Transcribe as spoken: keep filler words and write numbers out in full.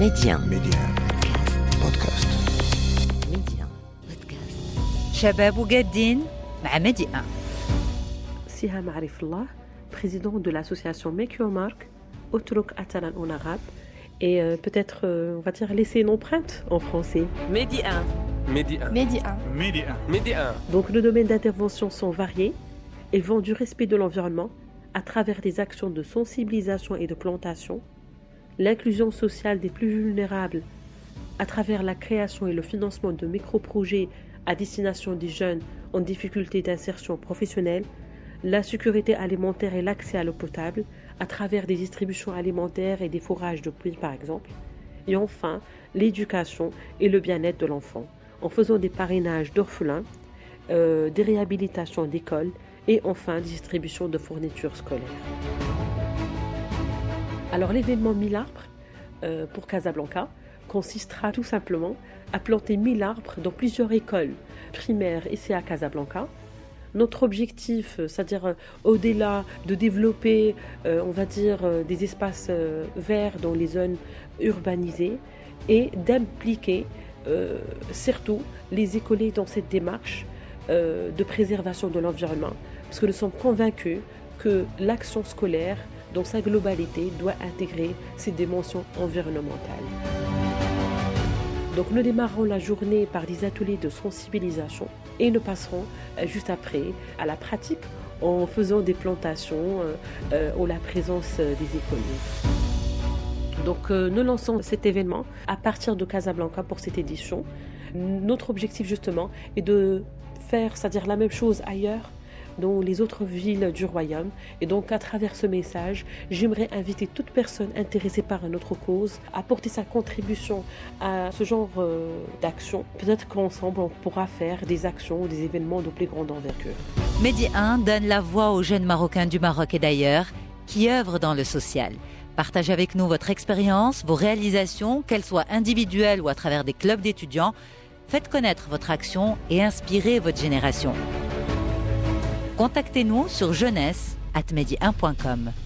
ميديان ميديان بودكاست. ميديان بودكاست شباب وجادين مع ميديان. Siham Arifullah, président de l'association Make Your Mark, Otrok Atalan en arabe, et euh, peut-être, euh, on va dire, laisser une empreinte en français. Médian. Médian. Médian. Médian. Médian. Donc nos domaines d'intervention sont variés et vont du respect de l'environnement à travers des actions de sensibilisation et de plantation, l'inclusion sociale des plus vulnérables à travers la création et le financement de micro-projets à destination des jeunes en difficulté d'insertion professionnelle, la sécurité alimentaire et l'accès à l'eau potable à travers des distributions alimentaires et des fourrages de pluie par exemple, et enfin l'éducation et le bien-être de l'enfant en faisant des parrainages d'orphelins, euh, des réhabilitations d'écoles et enfin des distributions de fournitures scolaires. Alors l'événement mille arbres euh, pour Casablanca consistera tout simplement à planter mille arbres dans plusieurs écoles primaires ici à Casablanca. Notre objectif, c'est-à-dire euh, au-delà de développer, euh, on va dire, euh, des espaces euh, verts dans les zones urbanisées, et d'impliquer euh, surtout les écoliers dans cette démarche euh, de préservation de l'environnement, parce que nous sommes convaincus que l'action scolaire, dans sa globalité, doit intégrer ces dimensions environnementales. Donc nous démarrons la journée par des ateliers de sensibilisation et nous passerons euh, juste après à la pratique en faisant des plantations euh, euh, ou la présence euh, des écoliers. Donc euh, nous lançons cet événement à partir de Casablanca pour cette édition. Notre objectif justement est de faire, c'est-à-dire la même chose ailleurs, dans les autres villes du royaume. Et donc à travers ce message, j'aimerais inviter toute personne intéressée par notre cause à apporter sa contribution à ce genre euh, d'action. Peut-être qu'ensemble on pourra faire des actions ou des événements de plus grande envergure. Médian donne la voix aux jeunes Marocains du Maroc et d'ailleurs qui œuvrent dans le social. Partagez avec nous votre expérience, vos réalisations, qu'elles soient individuelles ou à travers des clubs d'étudiants. Faites connaître votre action et inspirez votre génération. Contactez-nous sur jeunesse arobase médian point com.